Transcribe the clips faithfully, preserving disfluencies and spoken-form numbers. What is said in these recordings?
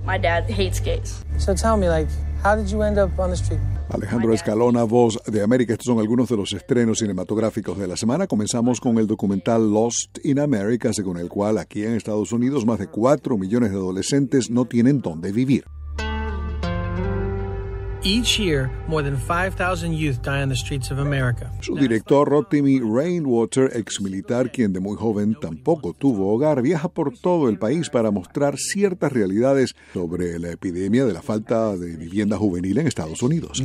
My dad hates gays. So tell me, like, how did you end up on the street? Alejandro Escalona, Voz de América. Estos son algunos de los estrenos cinematográficos de la semana. Comenzamos con el documental Lost in America, según el cual aquí en Estados Unidos más de cuatro millones de adolescentes no tienen dónde vivir. Each year, more than five thousand youth die on the streets of America. Su director, Rotimi Rainwater, exmilitar quien de muy joven tampoco tuvo hogar, viaja por todo el país para mostrar ciertas realidades sobre la epidemia de la falta de vivienda juvenil en Estados Unidos.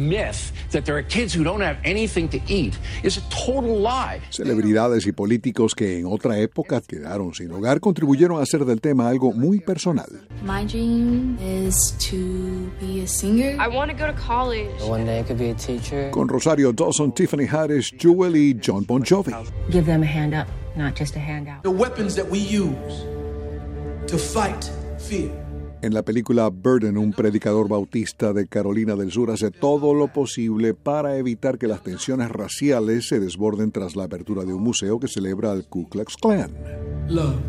Celebridades y políticos que en otra época quedaron sin hogar contribuyeron a hacer del tema algo muy personal. My dream is to be a singer. I want to go to college. One day I could be a teacher. Con Rosario Dawson, Tiffany Haddish, Jewel y John Bon Jovi. Give them a hand up, not just a handout. The weapons that we use to fight fear. En la película Burden, un predicador bautista de Carolina del Sur hace todo lo posible para evitar que las tensiones raciales se desborden tras la apertura de un museo que celebra al Ku Klux Klan. Love.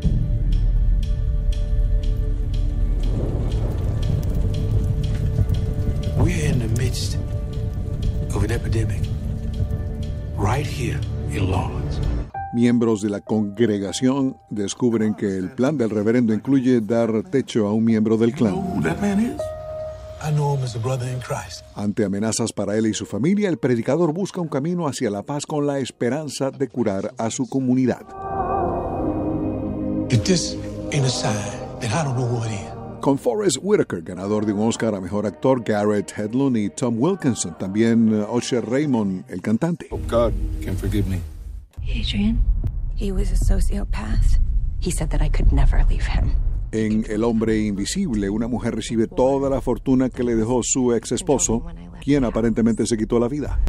We're in the midst of an epidemic, right here in Lawrence. Miembros de la congregación descubren que el plan del reverendo incluye dar techo a un miembro del clan. You know who that man is? I know him as a brother in Christ. Ante amenazas para él y su familia, el predicador busca un camino hacia la paz con la esperanza de curar a su comunidad. If this ain't a sign, then I don't know what is. Con Forrest Whitaker, ganador de un Oscar a Mejor Actor, Garrett Hedlund y Tom Wilkinson, también uh, Usher Raymond, el cantante. Hope God can forgive me. Adrian, he was a sociopath. He said that I could never leave him. En El Hombre Invisible, una mujer recibe toda la fortuna que le dejó su ex esposo, quien aparentemente se quitó la vida.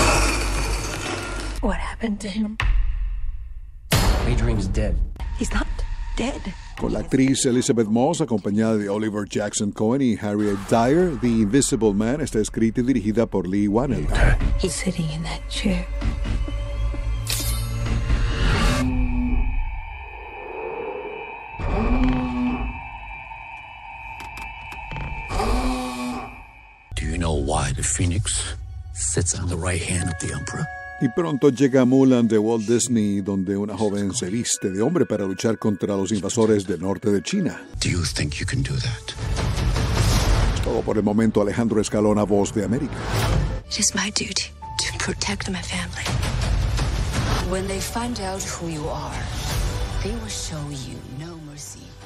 What happened to him? Adrian's dead. He's not dead. Con la actriz Elizabeth Moss, acompañada de Oliver Jackson Cohen y Harriet Dyer, The Invisible Man está escrita y dirigida por Lee Whannell. He's sitting in that chair. Do you know why the Phoenix sits on the right hand of the Emperor? Y pronto llega Mulan de Walt Disney, donde una joven se viste de hombre para luchar contra los invasores del norte de China. Do you think you can do that? Todo por el momento. Alejandro Escalona, Voz de América. It is my duty to protect my family. When they find out who you are, they will show you no mercy.